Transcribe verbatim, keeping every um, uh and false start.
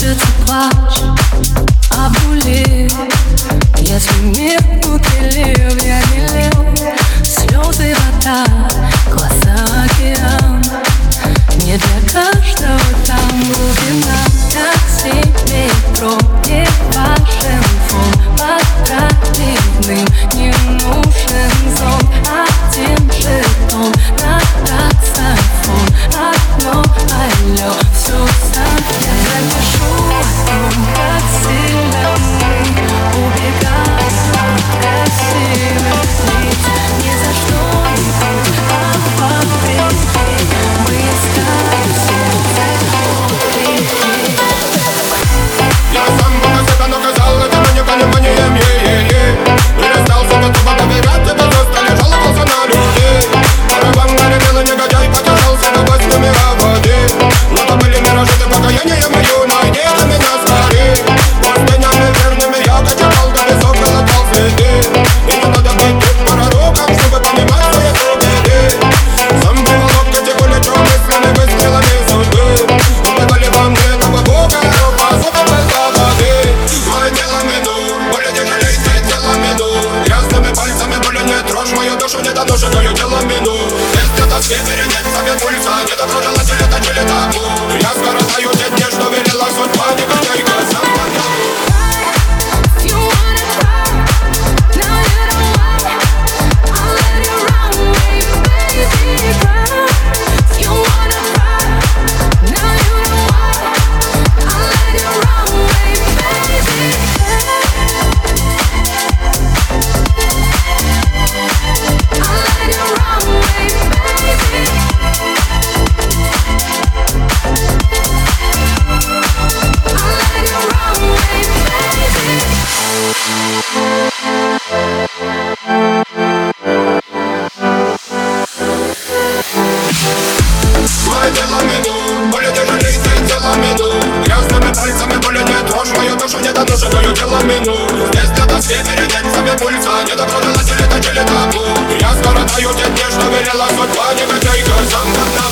Кончится плач, обнули. Если мир утелил, я не лил. Слезы, вода, глаза, океан. Не для каждого там глубина. Такси, метро, не важен фон. Под правильным не нужен зон. Один жетон на таксофон. Одно алло, все сам. Я напишу о том, как сильно мы убегаем от красивых лиц. Ни за что-нибудь, а по времени мы искали сердце любви. Я сам много себя наказал этим непониманием, е-е-е. Перестал готово доверять, тебе просто лежал и жаловался на людей. Барабан наревел и негодяй потешался до восьми воды. Но то были миражи, ты покаяние мое, найди на меня скорей. Пустынями верными я качал, до песок колотал следы. И не надо быть тут пророком, чтобы понимать свои трудности. Сам приволок эти куличу мыслями выстрелами судьбы. Убивали во мне этого бога, по зубам без воды. Мое тело минут, более не жалей, ты тело минут. Грязными пальцами более не трожь мою душу, не доношенную тело минут. Если тоски перенять себе пульса, не добро желатель, это не летаку. Я скоротаю те дни, что велела судьба, негодяйка сам подал. Мое тело минут, более не жалей, ты тело минут. Грязными пальцами более не трожь мою душу, не доношенную тело минут. Здесь для тоски перенять себе пульса, не добро желатель, это не летаку. Я скоротаю те дни, что велела судьба, негодяйка сам подал.